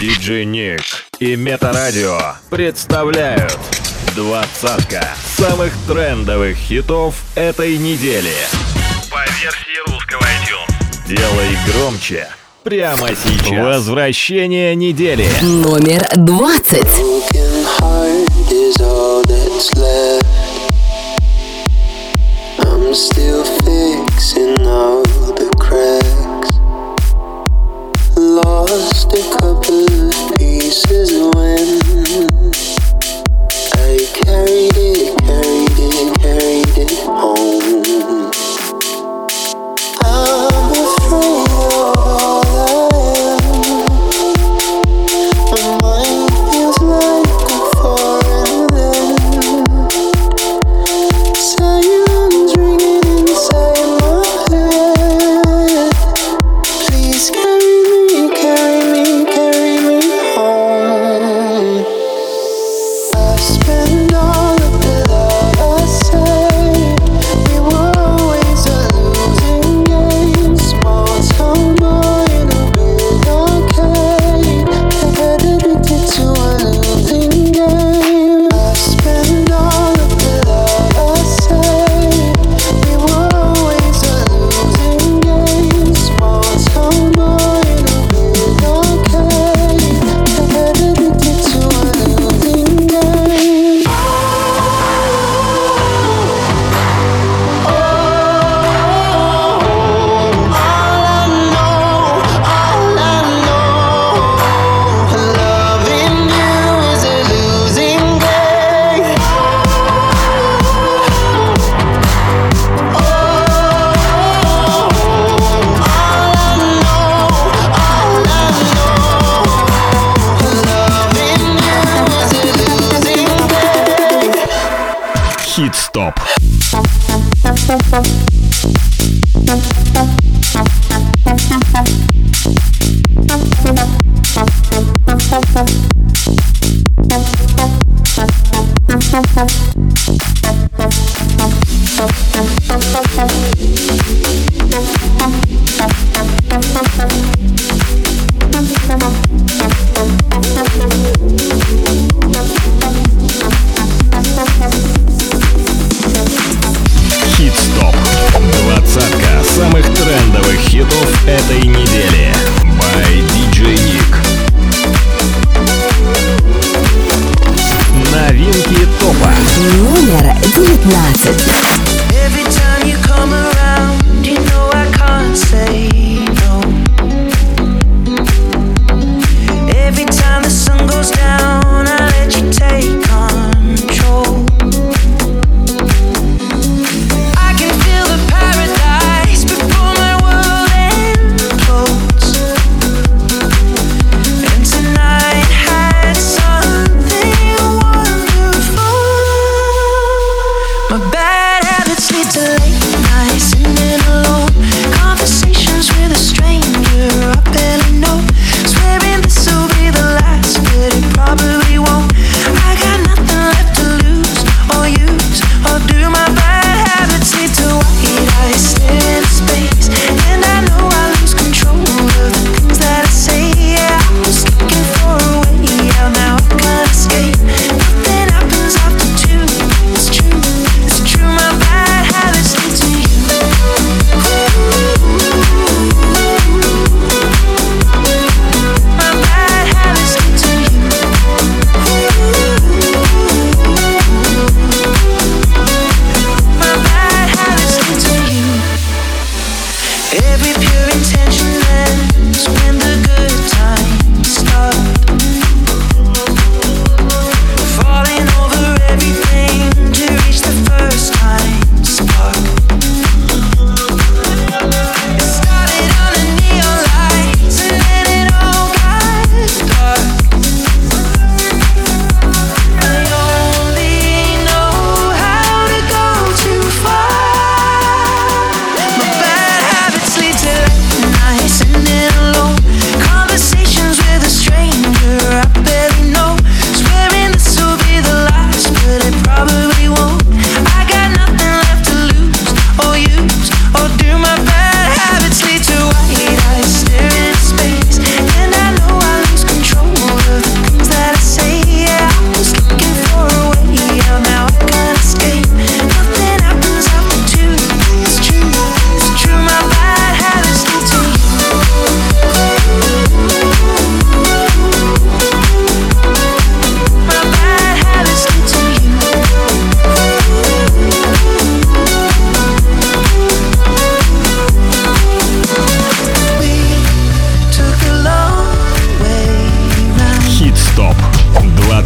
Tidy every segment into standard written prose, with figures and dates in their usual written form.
Диджей Ник и Метарадио представляют двадцатка самых трендовых хитов этой недели по версии русского iTunes. Делай громче прямо сейчас. Возвращение недели. Номер 20. I'm still fixing all the cracks. Lost a couple of pieces when I carried it home. I'm afraid of all I am. My mind feels like a foreign land. Silence ringing inside my head. Please carry me home. I spent all of the love I saved. We were always a losing game. Small town boy in a big arcade. Head addicted to a losing game. I spent all of the love I saved. We were always a losing game. Small town boy in a big arcade. Head addicted to a losing game. All I know, loving you is a losing game. Хит-стоп.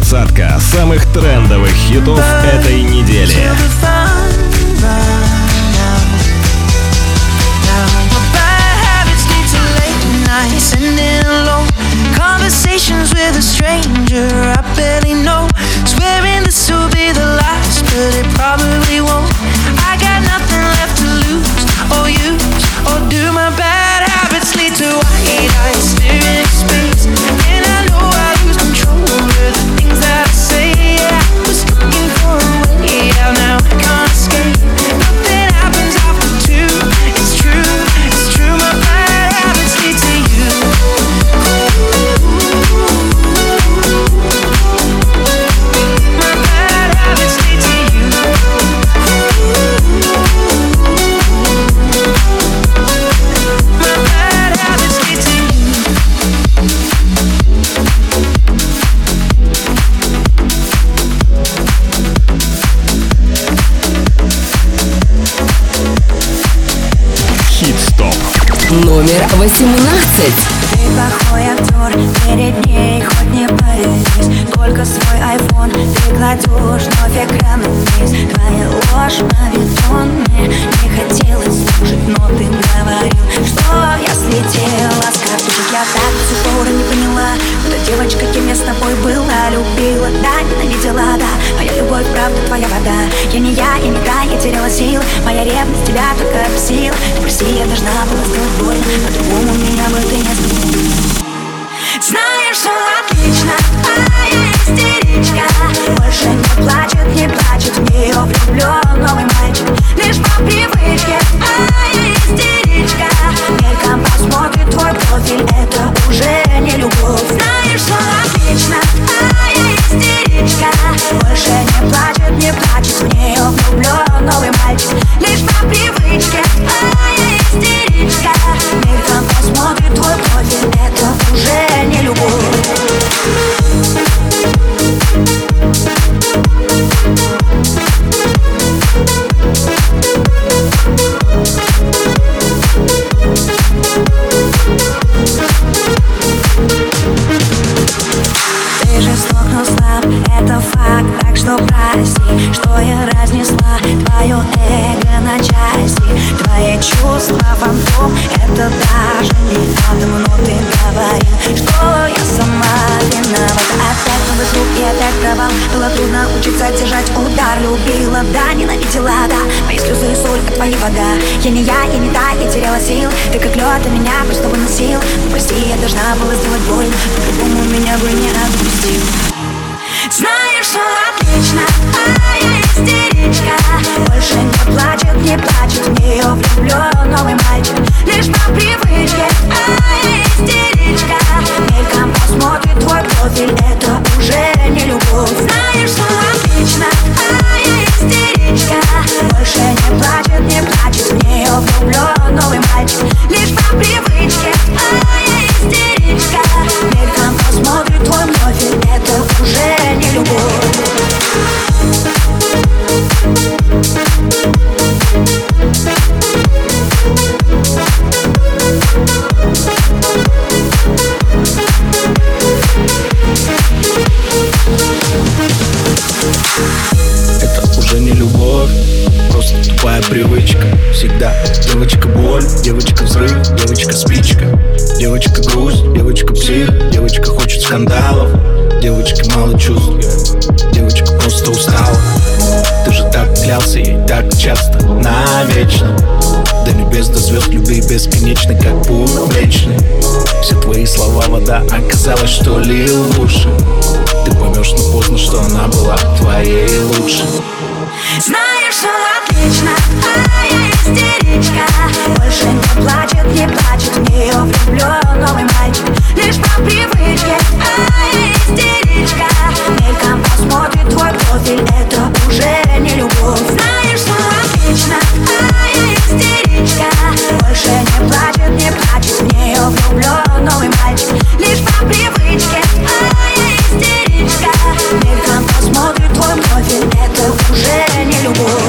Двадцатка самых трендовых хитов этой недели. Conversations with a stranger I barely know. Swearing this will be the last, but it probably won't. I got nothing left to lose or use or do. My bad habits lead to white eyes staring at space, and I know I lose control over the things that I say. Yeah, I was looking for a way out, now I can't escape. Nothing happens after two. It's true, it's true. My bad habits lead to you. Номер 18. Ты плохой актер, перед ней хоть не появись. Только свой айфон ты кладешь вновь экраном вниз. Твоя ложь мавитон, мне не хотелось слушать, но ты говорил, что я слетела с катушек. Я так до сих пор не поняла, эта девочка, кем я с тобой была, любила, да, ненавидела, да. Моя любовь, правда, твоя вода. Я не та, я теряла силы. Моя ревность тебя только бесила. Ты прости, я должна была сделать больно, по-другому меня бы ты не сделал. Знаешь, все отлично, а я истеричка. Больше не плачет, в нее влюблен новый мальчик. Лишь по привычке, а я истеричка. Мельком посмотрит твой профиль, это уже не любовь. Знаешь, все отлично, а я истеричка. Больше не плачет, в нее влюблен новый мальчик. Лишь по привычке, а я истеричка. Мельком посмотрит твой профиль, это уже не любовь. Ты жесток, но слаб, это факт, так что прости, что я разнесла твое эго на части. Твои чувства фантом, это даже не атом, но ты говорил, что я сама виновата. Опять новый круг и опять провал. Было трудно учиться держать удар. Любила, да, ненавидела, да. Мои слезы и соль, как твоя вода. Я не та, я теряла сил. Ты как лед, а меня просто выносил. Ну прости, я должна была сделать больно, по-другому меня бы не отпустил. Знаешь, все отлично, а я истеричка. Больше не плачет, в нее влюблен новый мальчик. Лишь по привычке, а я истеричка. Мельком посмотрит твой профиль, это уже не любовь. Знаешь, все отлично, а я истеричка. Больше не плачет, в нее влюблен новый мальчик. Лишь по привычке, а я истеричка. Мельком посмотрит твой профиль, это уже не любовь. Это уже не любовь, просто тупая привычка. Всегда девочка боль, девочка взрыв, девочка спичка. Девочка грусть, девочка псих, девочка хочет скандалов. Девочка мало чувств, девочка просто устала. Ты же так клялся ей так часто, навечно. До небес, до звезд, любви бесконечной, как путь млечный. Все твои слова вода, оказалось, что лил в уши. Ты поймешь, но поздно, что она была твоей лучшей. Знаешь, все отлично, а я истеричка. Больше не плачет, в нее влюблен новый мальчик. Лишь по привычке, а я истеричка. Мельком посмотрит твой профиль, это уже не любовь. Знаешь, все отлично, а я истеричка. Больше не плачет, в нее влюблен новый мальчик. Лишь по привычке, а я истеричка. Мельком посмотрит твой профиль, это уже не любовь.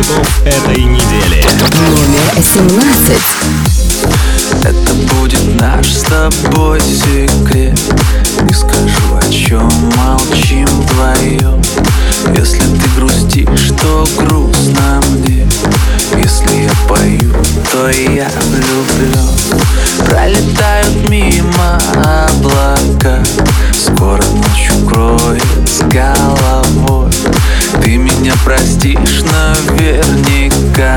хитов этой недели. Номер 17. Это будет наш с тобой секрет. Не скажу, о чем молчим вдвоем. Если ты грустишь, то грустно мне. Если я пою, то я влюблен. Пролетают мимо облака, скоро ночь укроет с головой. Ты меня простишь наверняка.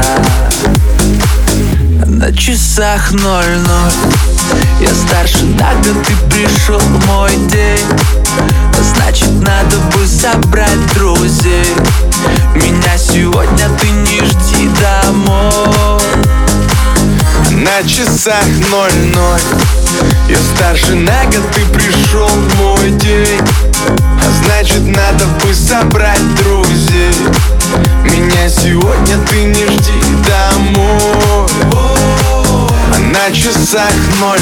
На часах 00. Я старше на год, ты пришел в мой день. Значит, надо бы собрать друзей. Меня сегодня ты не жди домой. На часах 00. Я старше на год, ты пришел в мой день. Значит, надо бы собрать друзей. Меня сегодня ты не жди домой. На часах 00.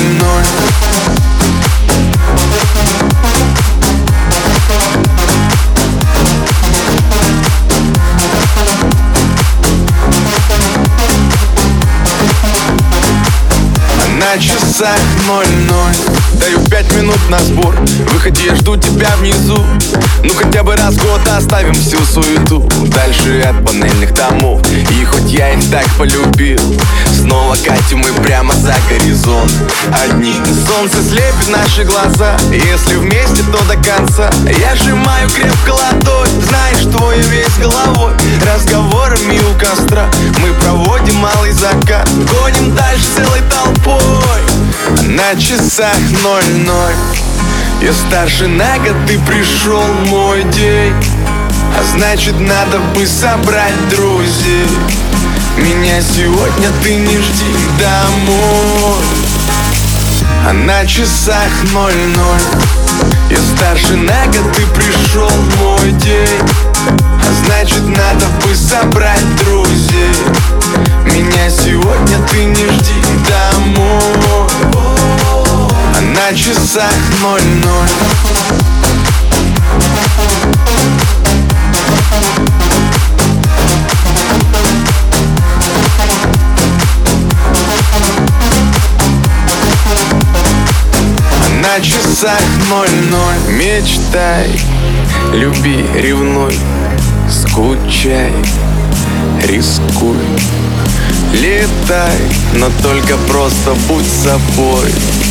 На часах 00. Даю 5 минут на сбор. Выходи, я жду тебя внизу. Ну хотя бы раз в год оставим всю суету. Дальше от панельных домов. И хоть я их так полюбил, снова катим мы прямо за горизонт. Одни солнце слепит наши глаза. Если вместе, то до конца. Я сжимаю крепко ладонь. Знаешь, твой весь головой. Разговорами у костра мы проводим малый закат. Гоним дальше целой толпой. На часах 00. Я старше на год, ты пришел в мой день. Значит, надо бы собрать друзей. Меня сегодня ты не жди домой. На часах 00. Я старше на год, ты пришел в мой день. Значит, надо бы собрать друзей. Меня сегодня ты не жди домой. На часах 00. На часах 00. Мечтай, люби, ревнуй, скучай, рискуй. Летай, но только просто будь собой.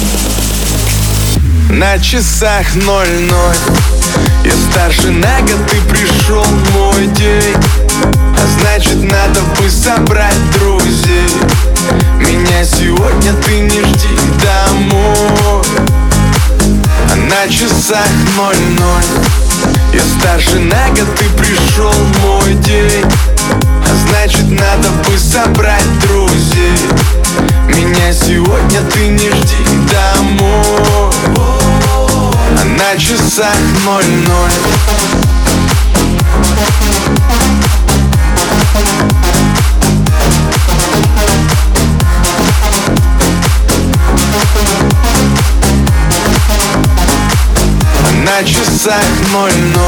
На часах 00. Я старше на год, ты пришел в мой день. Значит, надо бы собрать друзей. Меня сегодня ты не жди домой. На часах 00. Я старше на год, ты пришел в мой день. Значит, надо бы собрать друзей. Меня сегодня ты не жди домой. На часах 00. На часах 00.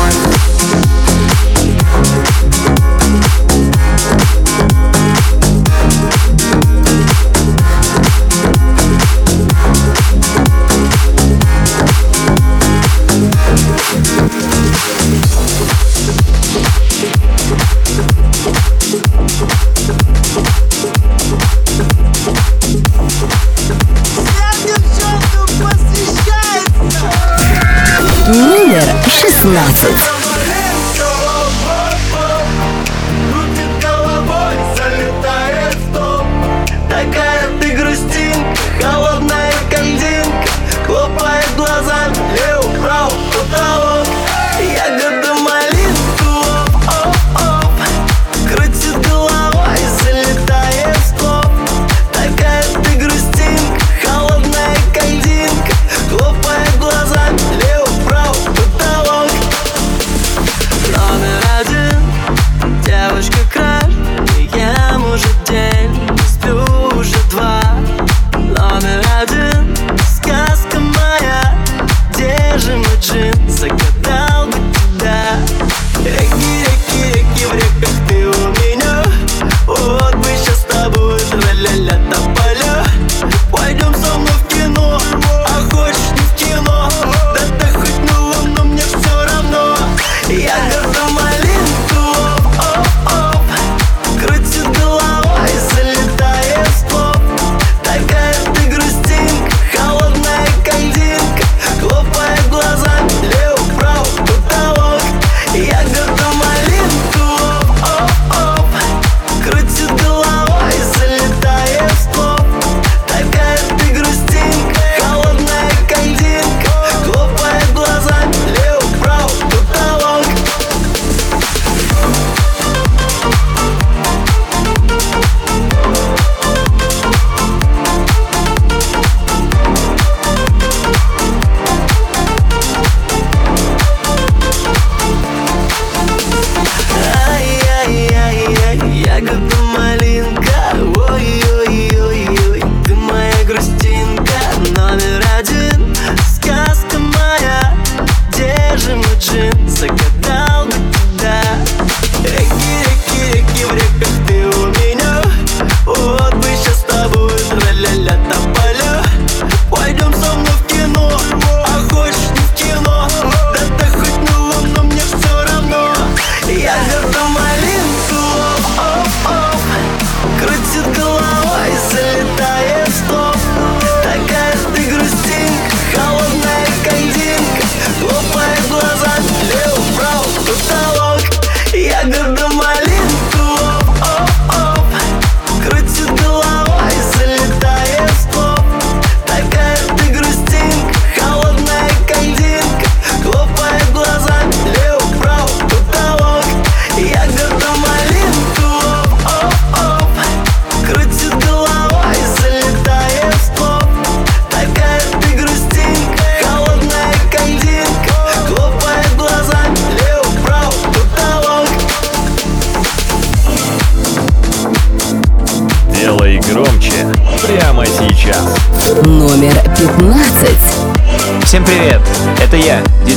Номер 16. Такая ты грустинка, холодная кандинка, хлопает глазами, лево-право, потолок. Ягода малинку, оп-оп, крутит головой, залетает в топ. Такая ты грустинка, холодная кандинка, хлопает глазами, лево-право, потолок.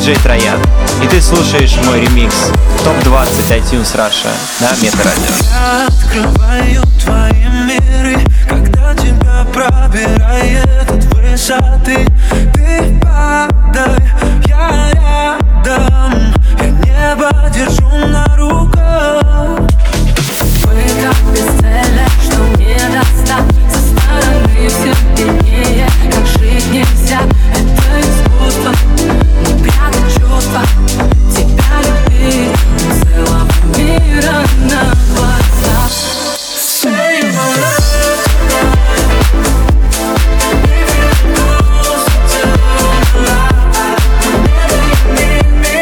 диджей Троян. И ты слушаешь мой ремикс ТОП-20 iTunes Russia на Метарадио. Я открываю твои миры, когда тебя пробирает от высоты. Ты падай, я рядом, я небо держу на руках. Мы как бесцельно, что не достать. Со стороны все виднее, как жить нельзя. Это искусство, не прятать чувства. Тебя любить целого мира на глазах. Say my love tonight. If you're closer to the light, whenever you need me,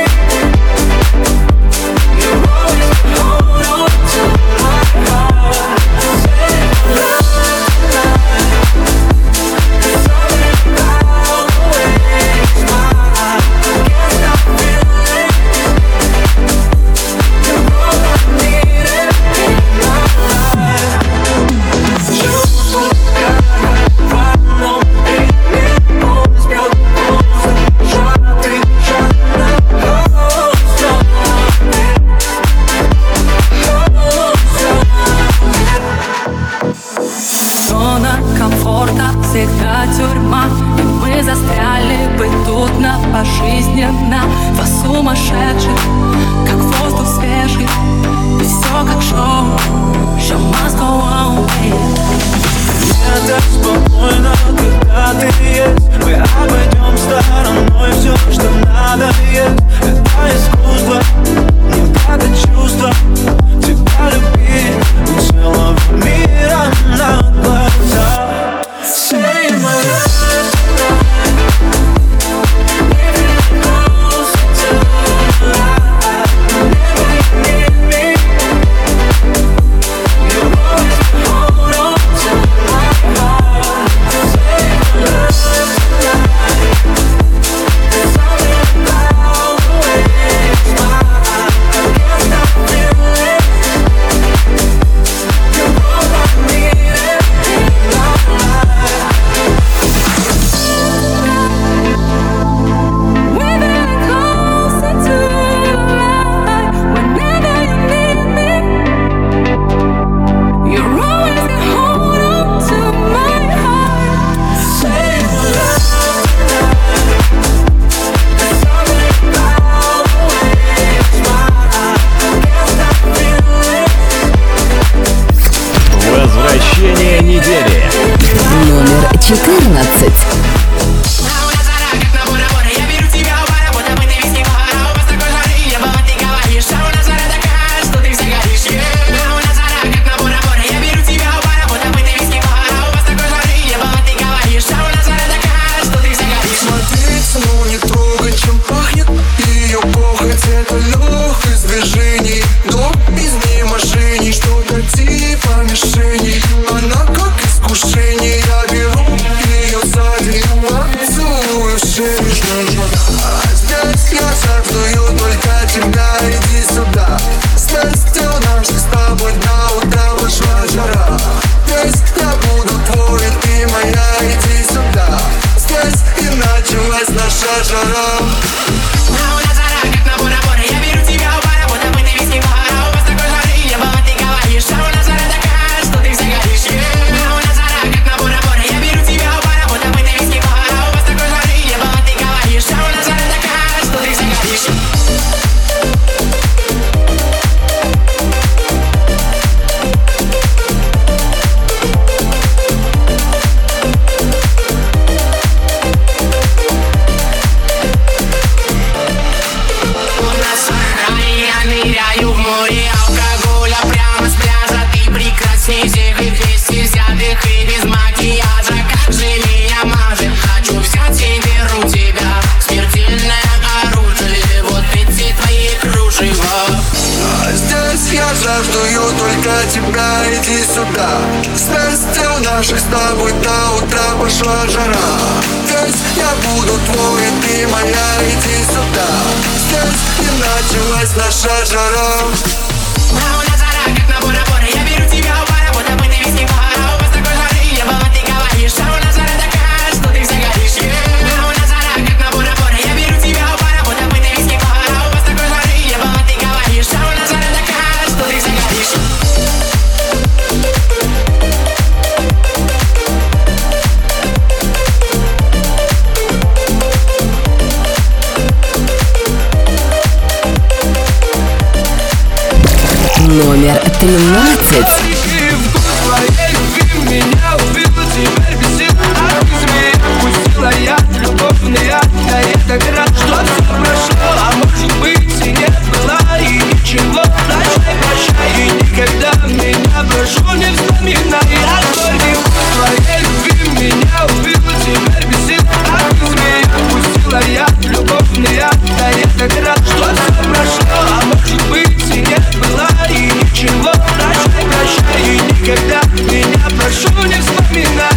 you always hold on to my heart. Say my love tonight. There's something about the way you smile. Can't stop feeling. You're all I needed in my life. Чувствую, как в одном ритме он спел музыку, жадный, жадно, зона комфорта всегда тюрьма, и мы застряли бы тут на пожизненно. Два сумасшедших, как воздух свежий, и все как шоу. Show must go on, baby. Мне так спокойно, когда ты есть. Мы обойдем стороной все, что надо есть. Это искусство, не прятать чувства. Тебя любить у целого мира на глазах. Say my love tonight. If you're closer to the light, whenever you need me, you always hold on to my heart. Say my love tonight. There's something about the way you smile. Can't stop feeling. You're all I needed in my life. We're very closer to the light. Whenever you need me, you're always gonna hold on to my heart. Say my love tonight. There's something about the way you smile. Can't stop feeling. Возвращение недели. Номер 14. Смотреться, но не трогать, чем пахнет ее похоть. Это легкость движений, но без мошенний. Что-то типа мишени, она как искушение. Я беру ее сзади, поцелую в шею. Здесь я жаждую только тебя, иди сюда. Страстью наших с тобой до утра пошла жара. Здесь я буду твой, ты моя, иди сюда. Здесь и началась наша жара. Жаждую только тебя, иди сюда. Страстью наших с тобой до утра пошла жара. Здесь я буду твой, ты моя, иди сюда. Здесь и началась наша жара. Я беру тебя в пара, будто бы ты весь не пара. У вас такой жары, я была, ты говоришь, а у нас жара такая, что ты загоришь. У нас жара, как на бора-бора. Я беру тебя в пара, будто бы ты Номер 13. Я любовный ад, я так рад, что все прошло. А может быть и не было и ничего. Прощай, и никогда меня прошу не вспоминай. Я горький вкус твоей любви меня убил. Теперь без сил от змеи отпустила я любовный ад, я так рад, что все прошло. А может быть и не было и ничего. Прощай, и никогда меня прошу не вспоминай.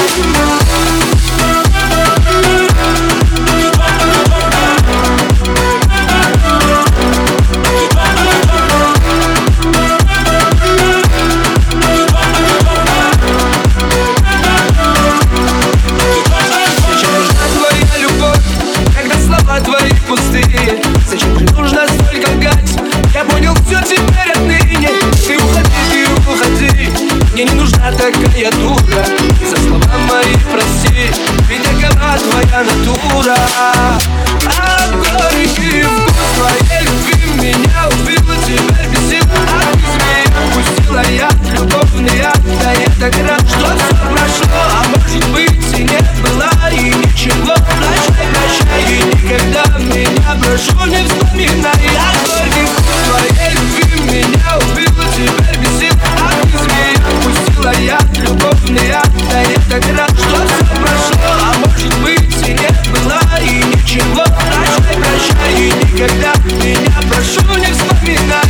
Зачем же нужно столько лгать? Я понял все теперь отныне. Ты уходи, мне не нужна такая дура. И за слова мои прости, ведь такова твоя натура. А горький вкус твоей любви меня убил. Теперь без сил от змеи отпустила я любовный ад, я так рад, что все прошло. А может быть и не было и ничего. Прощай, и никогда меня прошу не вспоминай. Я горький вкус твоей любви меня убил. Теперь без сил от змеи отпустила я любовный ад, я так рад, что все прошло. А может быть и не было и ничего. Прощай, и никогда меня прошу не вспоминай.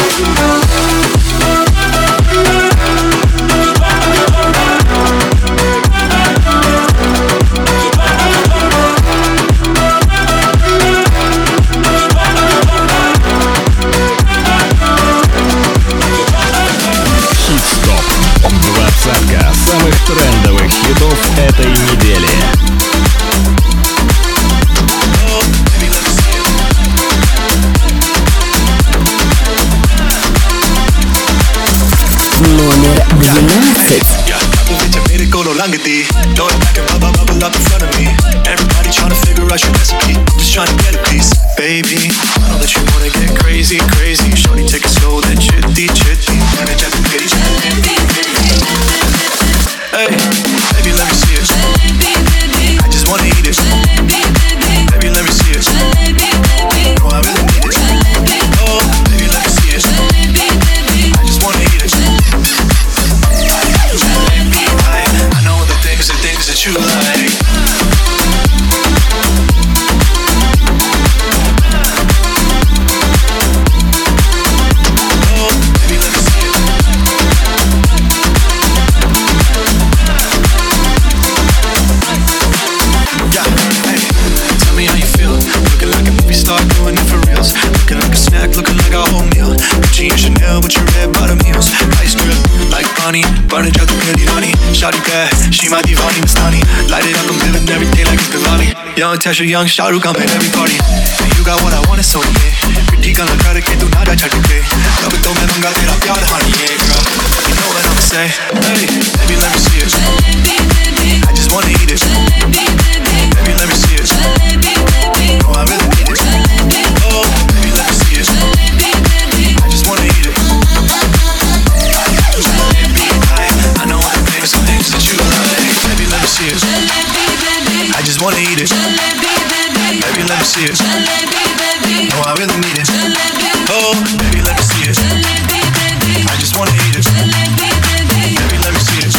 Двадцатка самых трендовых хитов этой недели. Номер 12. Everybody trying to figure out your recipe. I'm just trying to get a piece, baby. I know that you wanna get crazy, crazy. Shorty, take it slow, then chitty, chitty. Hey, baby, let me see it. I just wanna eat it. Baby, let me see it. Oh, I really need it. Oh, baby, let me see it. I just wanna eat it. I know the things that you like. Burn it out the really honey. Shawty bad, she my divani Mastani. Light it up, I'm living every day like it's Diwali. Young Tesha, young Shahrukh, I'm at every party. And you got what I want, so yeah. Pretty gun la kar ke tu na ja chhad ke. Ab to main manga tera pyar honey, yeah girl. You know what I'ma say? Hey, baby, let me see it. I just wanna eat it. Baby, let me see it. Oh, I really need it. Oh, baby, let me see it. I just wanna eat it. I know all the things that you like. Baby, let me see it. I just wanna eat it. Baby, let me see it. No, I really need it. Oh, baby, let me see it. I just wanna eat it. Baby, let me see it.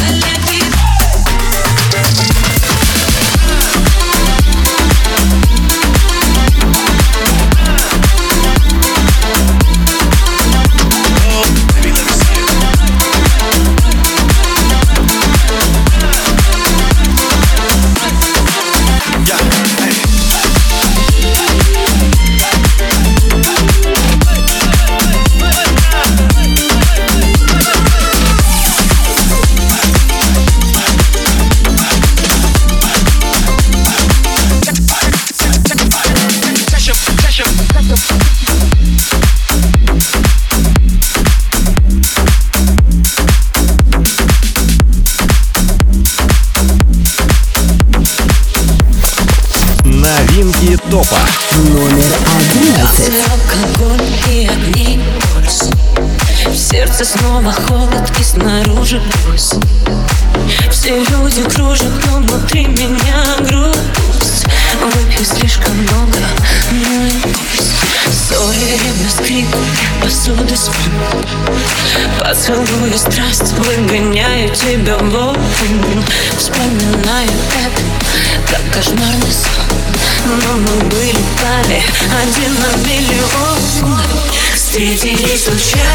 Новинки топа. Номер 11. Алкоголь и огни, пульс. Все сердце снова холод и снаружи пусть. Все люди кружат, но внутри меня грусть. Выпью слишком много, ну и пусть. Ссори, ревность, крик, посуды звон. Поцелую страсть, выгоняю тебя вон. Вспоминаю это, как кошмарный сон. Но мы были пали один на миллион. Встретились случайно,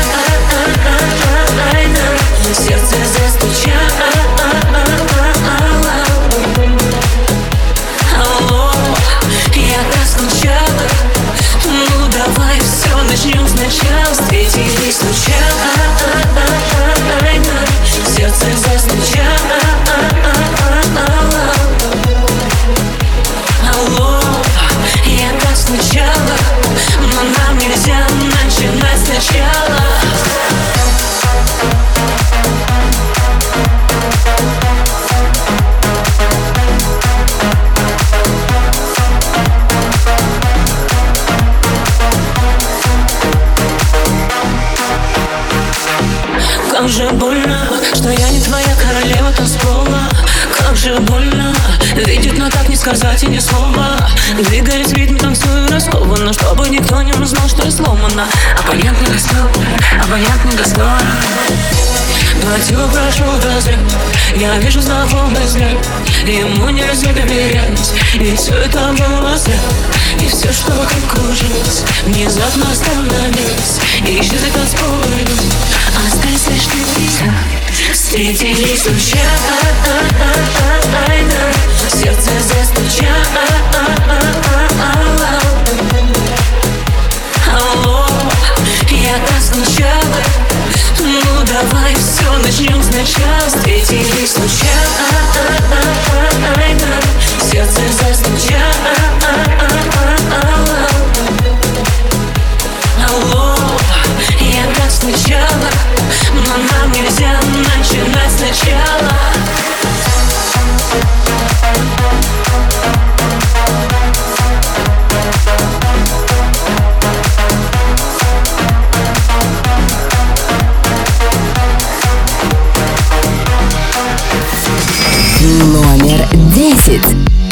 сердце застучало. Алло, я так скучала. Ну давай все начнем сначала. Встретились случайно, сердце застучало. Алло, я так скучала. Но нам нельзя начинать сначала. Как же больно, что я не твоя королева танцпола. Как же больно видеть, но так не сказать и ни слова. Двигаясь в ритме, танцую раскованно, чтобы никто не узнал, что я сломана. Абонент не гаснет, абонент не гаснет. Платила, прошу разряд. Я вижу знакомый взгляд. Ему нельзя доверять. И все это было зря. И все, что вокруг кружилось, внезапно остановилось. И исчезли танцполы. Остались лишь ты. Встретились случайно. Сердце застучало. Алло, я так скучала. Ну давай все начнем сначала. Встретились случайно. Сердце застучало. Алло, я так скучала. Но нам нельзя начинать сначала. Номер 10.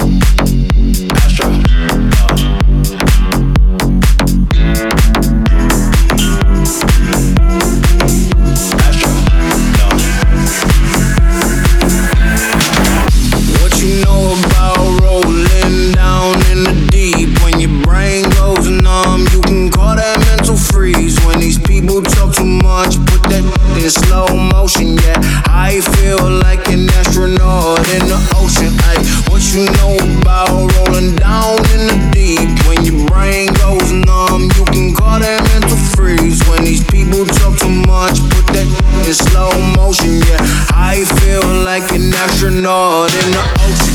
Slow motion, yeah. I feel like an astronaut in the ocean. Ay, what you know about rolling down in the deep? When your brain goes numb, you can call that mental freeze. When these people talk too much, put that in slow motion, yeah. I feel like an astronaut in the ocean.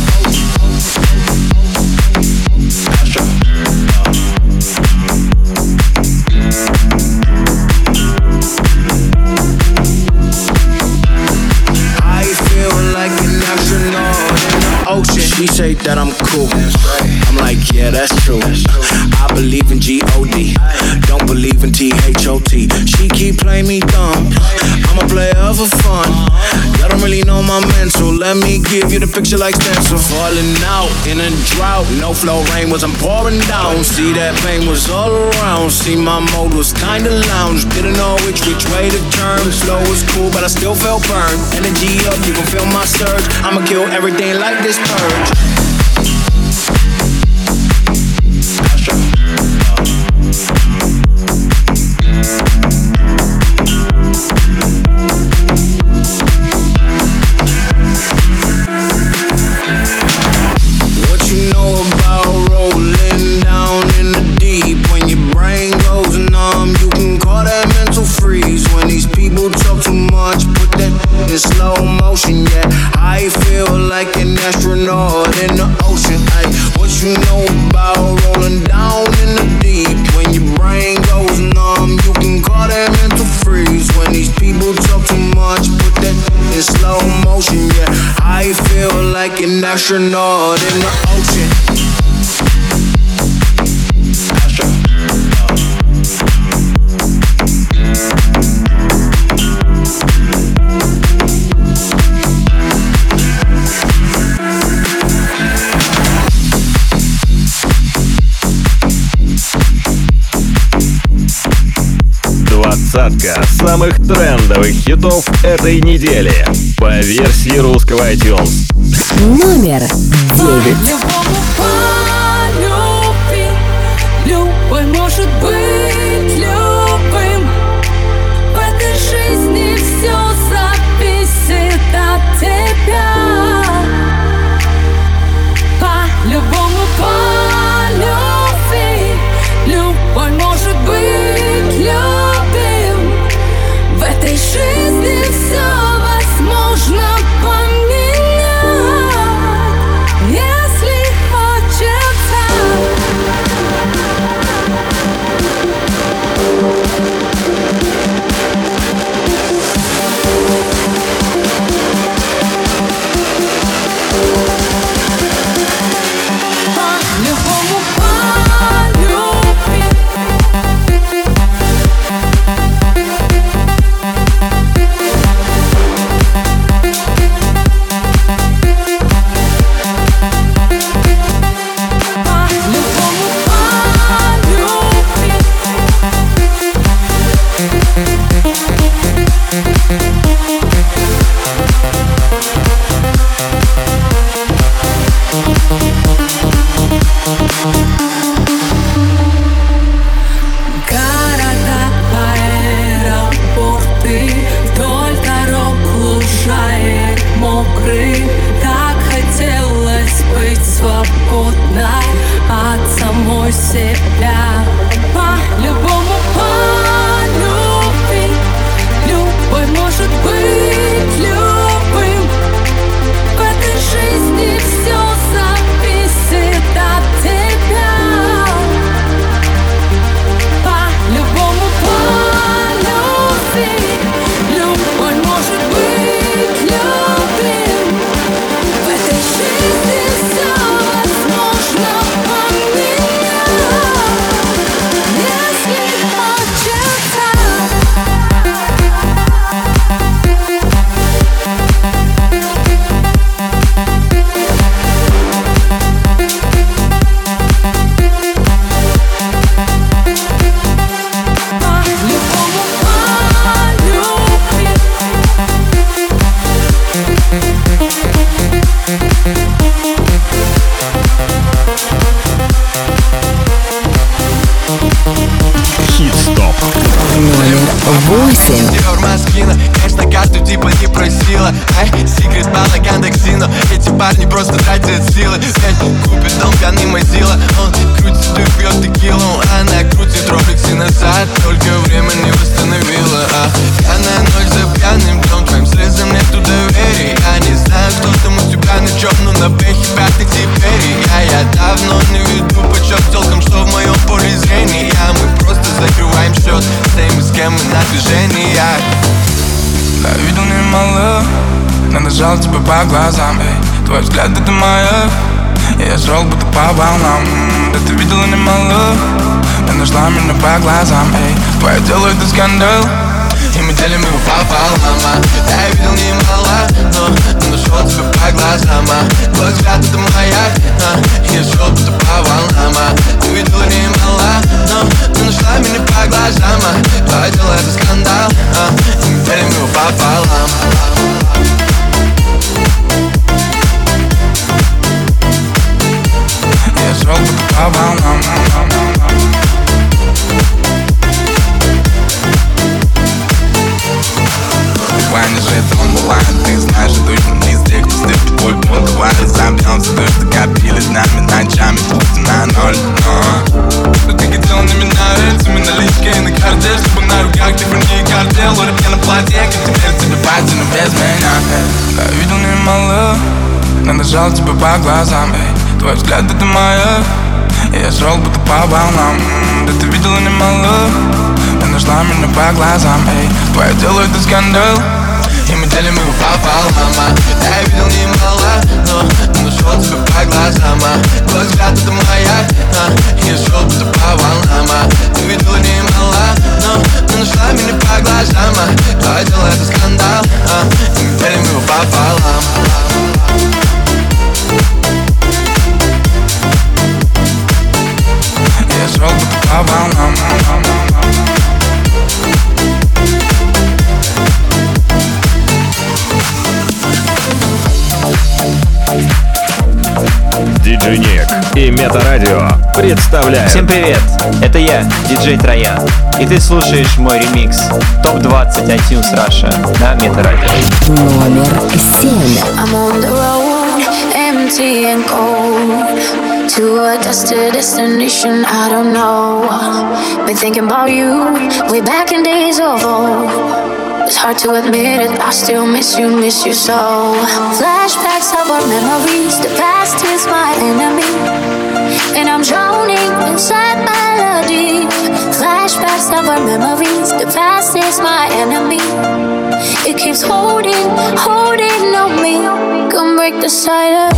She say that I'm cool. I'm like, yeah, that's true. I believe in G-O-D, don't believe in T-H-O-T. She keep playing me dumb. I'm a player for fun. Y'all don't really know my mental. Let me give you the picture like stencil. Falling out in a drought. No flow, rain wasn't pouring down. See, that pain was all around. See, my mode was kinda lounge. Didn't know which way to turn. Slow was cool, but I still felt burned. Energy up, you can feel my surge. I'ma kill everything like this purge. What you know about rolling down in the deep? When your brain goes numb, you can call that mental freeze. When these people talk too much, put that in slow motion, yeah. I feel like an astronaut in the ocean. Ay, what you know about rolling down in the deep? When your brain goes numb, you can call that mental freeze. When these people talk too much, put that in slow motion, yeah. I feel like an astronaut in the ocean. Двадцатка самых трендовых хитов этой недели по версии русского iTunes. Номер 9. Любой может быть любым. В этой жизни все зависит от тебя. По-любому по любви. Любой может быть любым. В этой жизни все возможно поменять, если хочется. По-любому по любви. По-любому по любви. Города, аэропорты, вдоль дорог лужаек мокрых. Так хотелось быть свободной от самой себя. По-любому по любви. Любой может быть любым. В этой жизни все зависит от тебя. По-любому по любви. Любой может быть любым. В этой жизни все возможно поменять, если хочется. По-любому по любви. Хит-стоп. Номер 8. Диор Маскина, конечно, карту типа не просила. Ай, секрет балаган Дексино. Эти парни просто тратят силы. Пять купит дом, пьяный Мазила. Он крутит и пьет текилу. Она крутит роликсы назад. Только время не восстановила. Пьяная ночь за пьяным днем. Твоим слезам нету доверия. Я не знаю, кто там у тебя на чем, но на бэхе пятый теперь. Я давно не веду почет толком, что в моем поле зрения. Мы просто закрываем счет с теми, с кем мы на движении. Я видел немало, надо тебя по глазам, эй. Твой взгляд это моя, я шел будто по волнам. Да ты видела немало, ты нашла меня по глазам, эй. Твое дело это скандал, и мы делим его пополам. Я видел немало, но нашел тебя по глазам. Твой взгляд это маяк, я шел будто по волнам. Ты видела немало, но нашла меня по глазам. Твое дело это скандал, и мы делим его пополам. я шел будто по волнам. Ваня же это он бывает, ты знаешь, точно не из тех, кто стыпит твой пол. Давай разобьемся, то, что копили с нами ночами, пусть на ноль, но ты хотел на меня рельсами, наличка и на карте, чтобы на руках типа не картел. Руки на платье, как теперь тебе пати, но без меня. Я видел немало, надо жал тебя по глазам, эй. Твой взгляд это моя, я шел будто по волнам. Да ты видела немало, ты нашла меня по глазам, эй. Твое дело это скандал, и мы делим его пополам. Я видел немало, но нашел тебя по глазам. Твой взгляд это маяк, я шел будто по волнам. Ты видела немало, но нашла меня по глазам. Твое дело это скандал, и мы делим его пополам. Я шел будто по волнам. Диджей Ник и Метарадио представляют. Всем привет, это я, диджей Троян, и ты слушаешь мой ремикс ТОП-20 iTunes Russia на Метарадио. Номер 7. I'm on the road, empty and cold, to a destination I don't know. Been thinking about you, way back in days of old. It's hard to admit it, I still miss you so. Flashbacks of our memories, the past is my enemy, and I'm drowning inside melody. Flashbacks of our memories, the past is my enemy. It keeps holding on me. Come break the silence.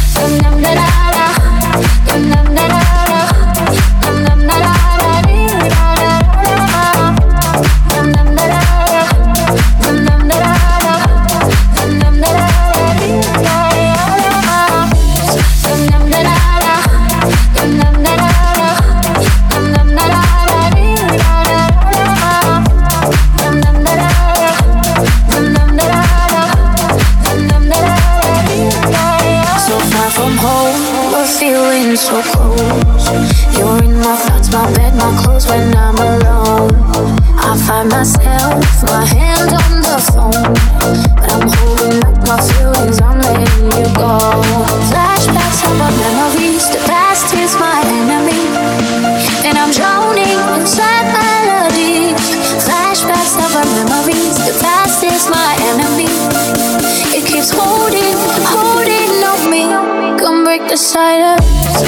So close, you're in my thoughts, my bed, my clothes when I'm alone. I find myself, my hand on the phone, but I'm holding up my feelings, I'm letting you go. Flashbacks of our memories, the past is my enemy, and I'm drowning inside melody. Flashbacks of our memories, the past is my enemy. It keeps holding on me. Come break the silence.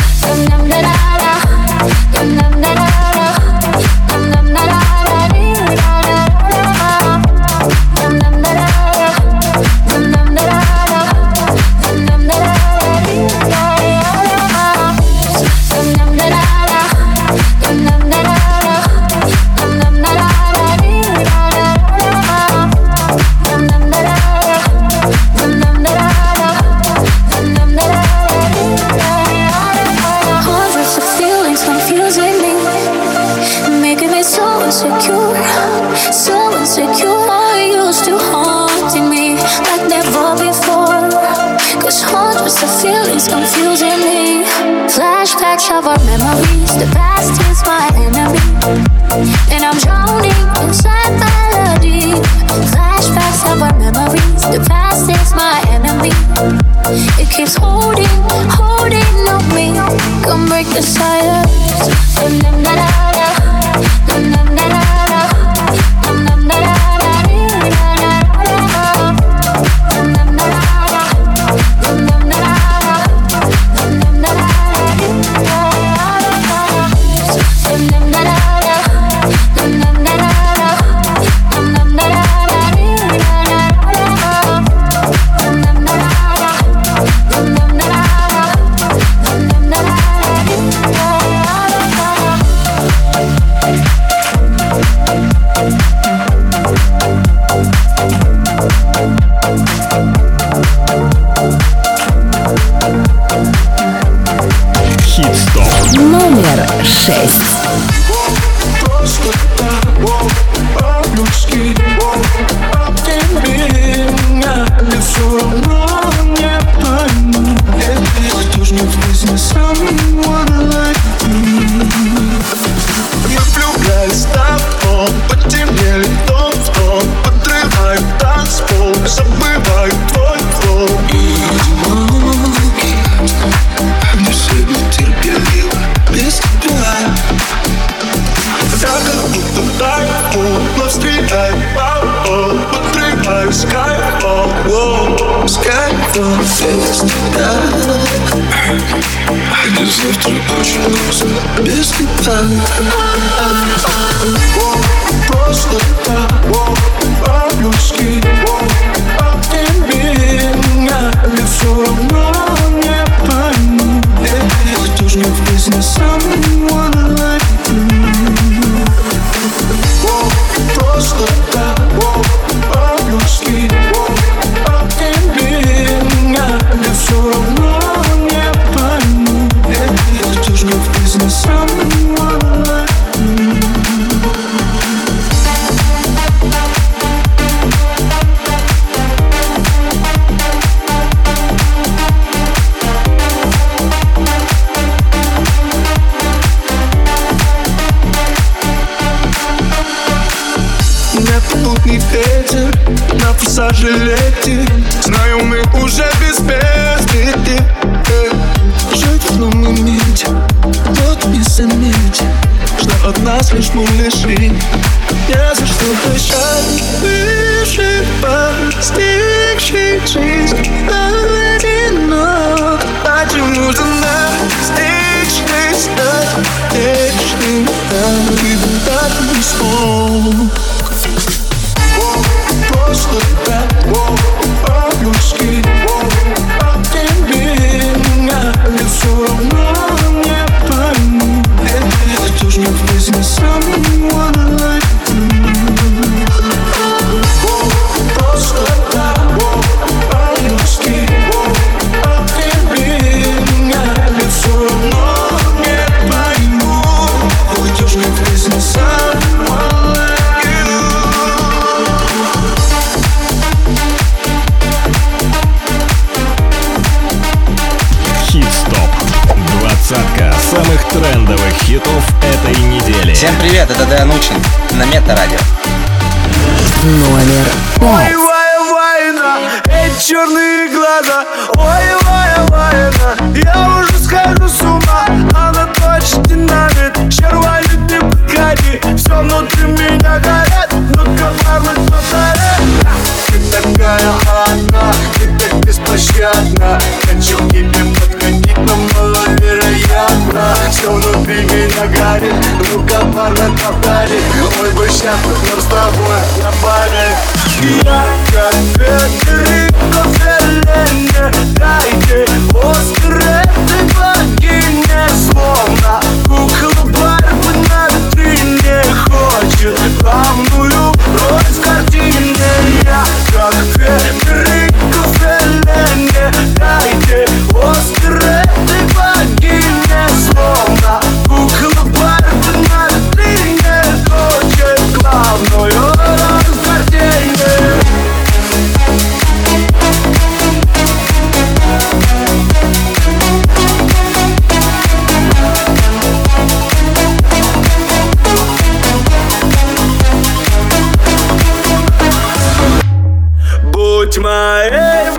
Confusing me. Flashbacks of our memories, the past is my enemy, and I'm drowning inside melody. Flashbacks of our memories, the past is my enemy. It keeps holding on me. Come break the silence. Номер 6. Просто так, по-людски, а тебе меня все равно не пойму. Кто ж не в someone like me? Я влюбляюсь в тобой, потемнели тон в тон, подрываю танцпол, забываю твой флоу. И одинокий, не сильно терпеливо без тебя. Я как будто тайфун, но встречаю пол, подрываю скайфол, скайфол без тебя. И завтра очень грустно без тебя. Просто так, по-людски, а тебе меня все равно не пойму. Кто ж не в бизнесе someone like me? Просто так, по-людски, а тебе меня все равно не пойму. Кто ж не в бизнесе someone like me? Летний ветер на форсаже летит. Знаю, мы уже без безбеды. Жить в одном моменте, тот не заметит, что от нас лишь мы лишили. Не за что прощать, выше постигший жизнь одинок. Почему же нас вечность вечным, ты так не смог. Просто так, по-людски, а ты меня все равно не пойму. Кто ж мне в жизни someone like you? Просто так, по-людски, а ты меня все равно не пойму. Кто ж мне в жизни someone like you? Хит-стоп. Двадцатка самых трендовых хитов этой недели. Всем привет, это Дэн Учин на Метарадио. Номер 5. Ой, война, эти черные глаза. Ой, война, я уже схожу с ума. Она точно динамит, червонит, не подходи. Все внутри меня горит, ну-ка, парни, повтори. Ты такая одна, ты так беспощадна. Хочу к тебе подходить, но маловероятно. Все внутри меня горит, ну-ка, парни, повтори. Ой, бы сейчас мы с тобой напали. Я как Федерико Феллини, дайте Оскар этой богине. Словно кукла Барби на витрине, хочет главную роль в картине. Я как Федерико Феллини, дайте Оскар этой богине. Словно кукла Барби на витрине, хочет главную роль в картине. Будь моей,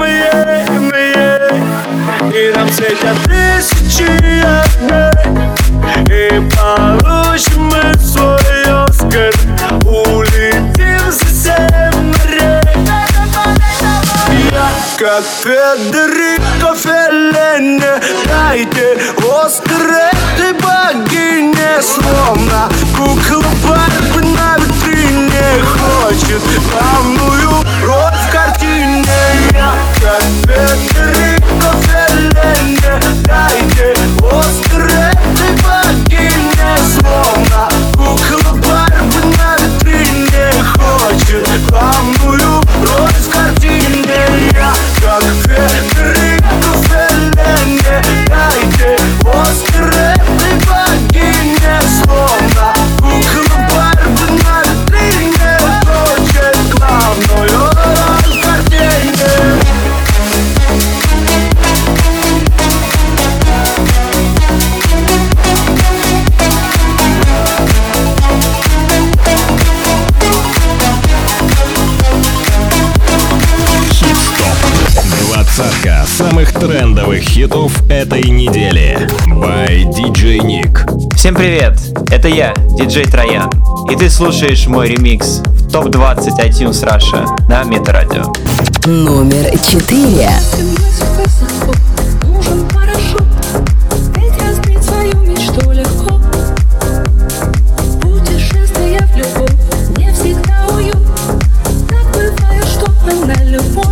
и нам светят тысячи огней, и получим мы свой Оскар, улетим за 7 морей. Я как Федерико Феллини, дайте Оскар этой богине. Словно кукла Барби на витрине, хочет главную роль в картине. Я как Федерико Феллини, дайте Оскар этой богине. Словно кукла Барби на витрине, хочет главную роль в картине. Я как Федерико Феллини, дайте Оскар этой богине. Словно кукла Барби на витрине, хочет главную роль в картине. Двадцатка самых трендовых хитов этой недели. By DJ Nick. Всем привет, это я, диджей Троян. И ты слушаешь мой ремикс в ТОП-20 iTunes Russia на Метарадио. Номер 4. Нужен парашют, ведь разбить свою мечту легко. Путешествие в любовь не всегда уют. Так бывает, что она любовь.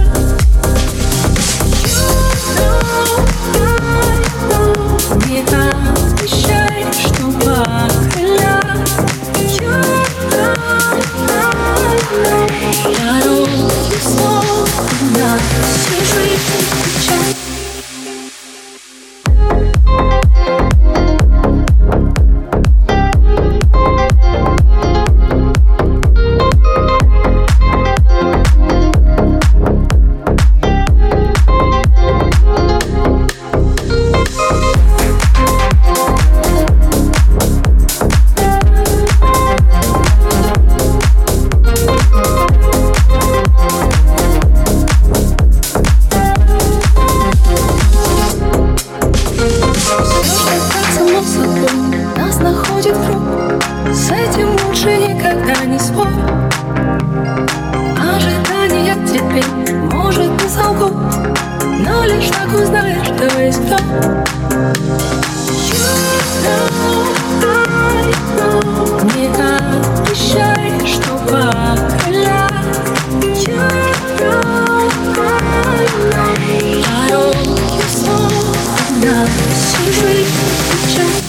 Не обещай, что поколя. Дорог снова на чужих. но лишь так узнаешь, кто есть кто. Не обещай, что поколят. Дороги снова на всю жизнь печаль.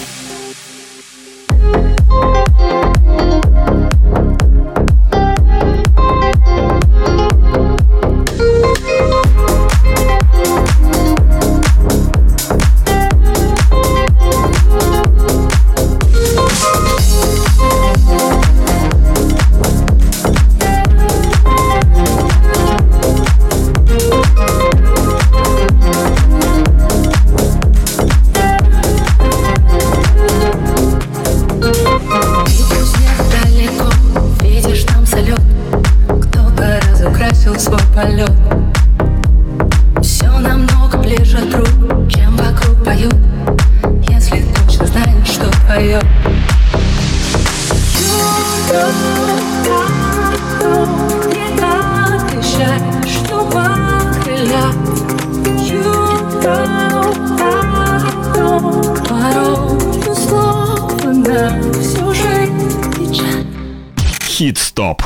Свой полет. Все намного ближе, друг, чем вокруг поют. Если точно знаешь, что твое. Не обещай, что покрылят. Порой условно на всю жизнь печаль. Хит-стоп.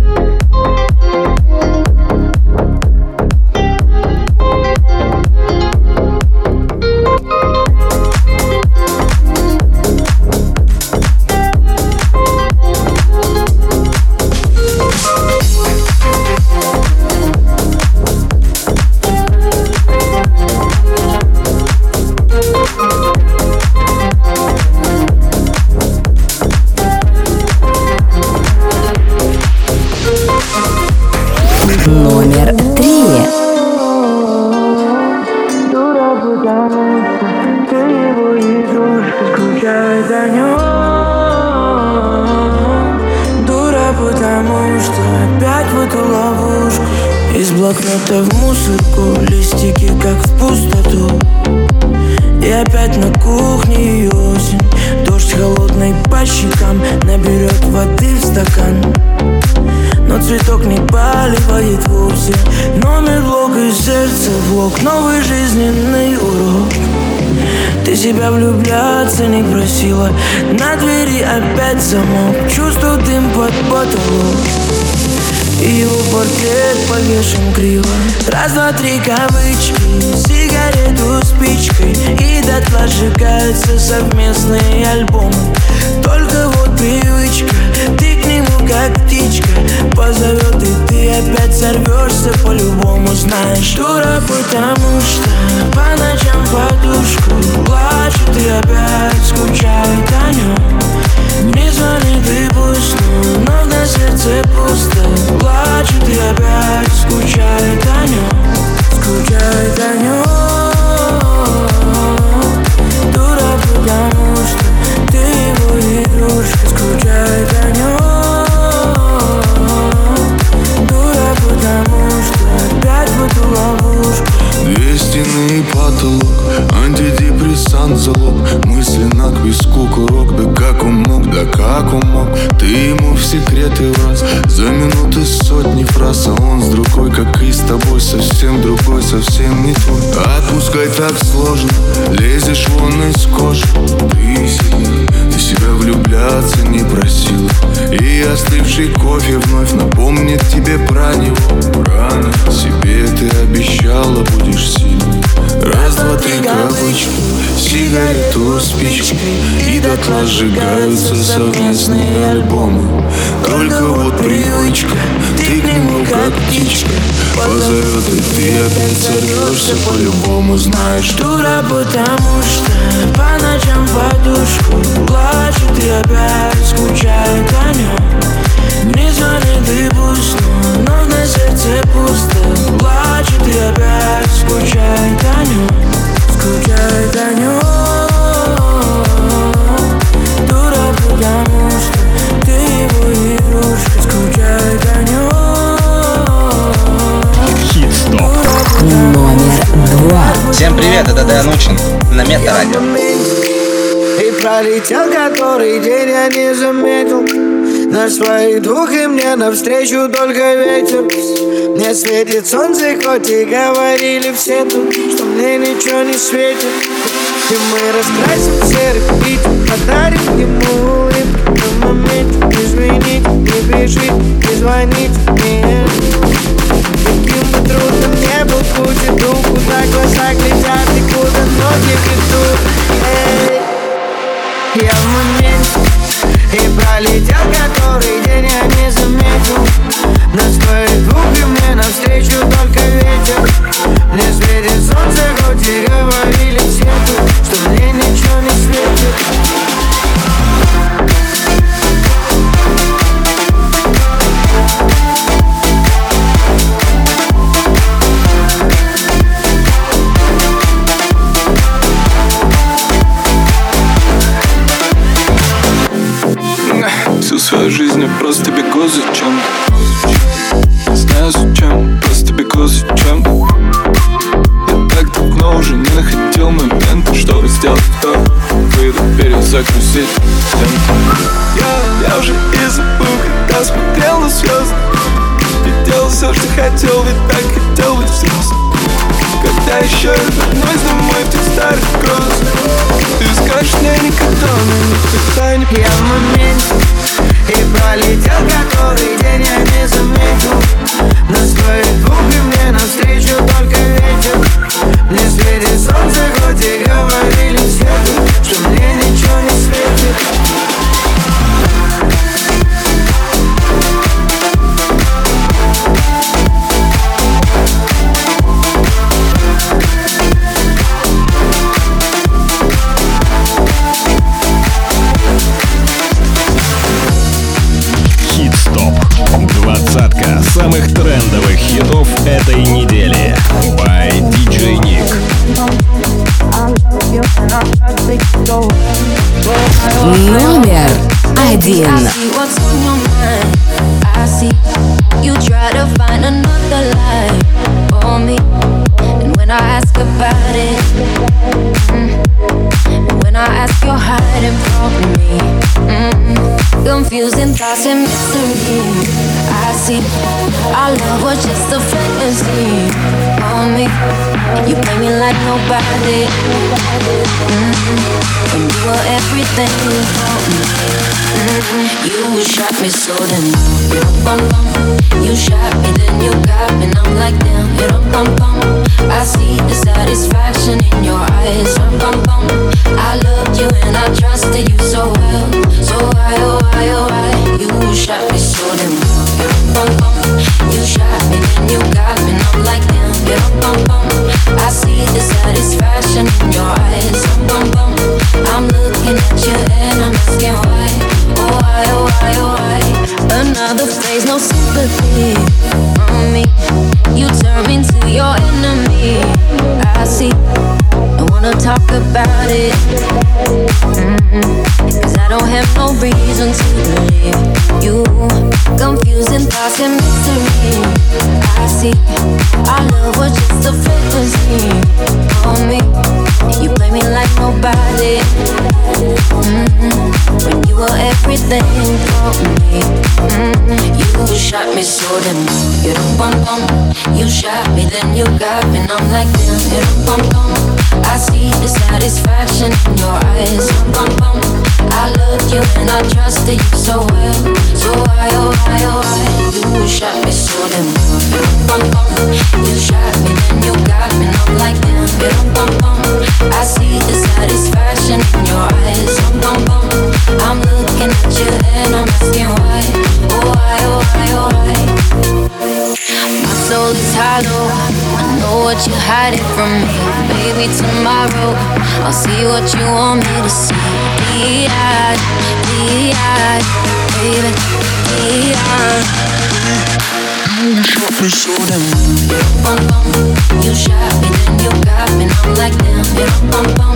Номер 3. Дура, потому что ты его игрушка, скучай за нем. Дура, потому что опять в эту ловушку. Из блокнота в мусорку, листики как в пустоту. И опять на кухне осень. Дождь холодный по щекам наберет воды в стакан. Но цветок не поливает вовсе. Номер блок и сердце блок. Новый жизненный урок. Ты себя влюбляться не просила. На двери опять замок. Чувствую дым под потолок. И его портрет повешен криво. Раз, два, три кавычки. Сигарету спичкой. И дотла сжигаются совместные альбомы. Только вот привычка. Ты к нему как птичка. Позовет и ты опять сорвешься по-любому. Знаешь, дура, потому что по ночам подушку плачет и опять скучает о нем. Не звонит и пусть, но на сердце пусто. Плачет и опять скучает о нем. Скучает о нем. Дура, потому что ты его игрушка. Скучает о нем. Дура, потому что опять в эту ловушку. Две стены и потолок, антидепрессант залог. Мысли на к виску курок. Да как он мог, да как он мог. Ты ему в секреты враз. За минуты сотни фраз. А он с другой, как и с тобой. Совсем другой, совсем не твой. Отпускай так сложно, лезешь вон из кожи. Ты себя влюбляться не просила. И остывший кофе вновь напомнит тебе про него. Рано себе ты обещала, будешь сильной. Раз, два, три кавычки. Сигарету спичкой. И дотла сжигаются совместные альбомы. Только вот привычка. Ты к нему как птичка. Позовет и ты опять сорвешься по-любому. Знаешь, дура, потому что по ночам подушку плачет и опять скучает о нем. Не звонит и пусть, но на сердце пусто. Плачет и опять скучает о нем. Скучает о нем. Дура, потому что ты его игрушка. Скучает о нем. Номер 2. Всем привет, это Дэн Учин на Метарадио. И пролетел который день, я не заметил. На своих двух и мне навстречу только ветер. Мне светит солнце, хоть и говорили все тут, что мне ничего не светит. И мы раскрасим серый пить, подарим ему улыбку на моменте. Извините, не бежит, не звоните мне. Каким бы трудным не был путь, иду, куда глаза глядят и куда ноги ведут. Я в моменте и пролетел который день, я не заметил. Нас твои губы мне навстречу только ветер. Мне светит солнце, хоть и говорили все тут, что мне ничего не светит. Всю свою жизнь я просто бегу за чем-то. Не знаю зачем, просто бегу за чем-то. Я так давно уже не находил момента, чтобы сделать вдох, выдох, перезагрузить темп. Я уже и забыл, когда смотрел на звезды. И делал все, что хотел, ведь так хотел быть взрослым. Когда еще я вернусь домой в тех старых грозах, ты скажешь мне никогда, но никогда не я в моменте и пролетел который день, я не заметил. Нас твои губы мне навстречу только ветер. Мне светит солнце, хоть и говорили все тут, что мне ничего не светит. Двадцатка самых трендовых хитов этой недели by DJ Nick. Номер один. You try to find another life for me, and when I ask about it, when I ask you're hiding from me, confusing thoughts and mystery. I see our love was just a fantasy for me. You play me like nobody, when you were everything for me. You shot me so then you shot me, then you got me, and I'm like damn. I see the satisfaction in your eyes. I loved you and I trusted you so well. So why, oh why, oh why? You shot me so damn. You shot me, then you got me, and I'm like damn. I see the satisfaction in your eyes. I'm looking at you and I'm asking why. Oh why, oh why, oh why? Another phase, no sympathy from me. You turn me into your enemy. I see, I wanna talk about it, cause I don't have no reason to believe you. Confusing thoughts and mystery. I see, our love was just a fantasy for me. You play me like nobody, when you were everything for me. You shot me so damn. You shot me, then you got me, and I'm like damn. I see the satisfaction in your eyes. I loved you and I trusted you so well. So why, oh why, oh why? You shot me so damn. You shot me, then you got me, and I'm like damn. I see the satisfaction in your eyes. I'm looking at you and I'm asking why. Oh why, oh why, oh why? My soul is hollow, I know what you're hiding from me. Baby, tomorrow I'll see what you want me to see. D.I., baby, D.I. You shot me so damn. You shot me, then you got me, and I'm like damn.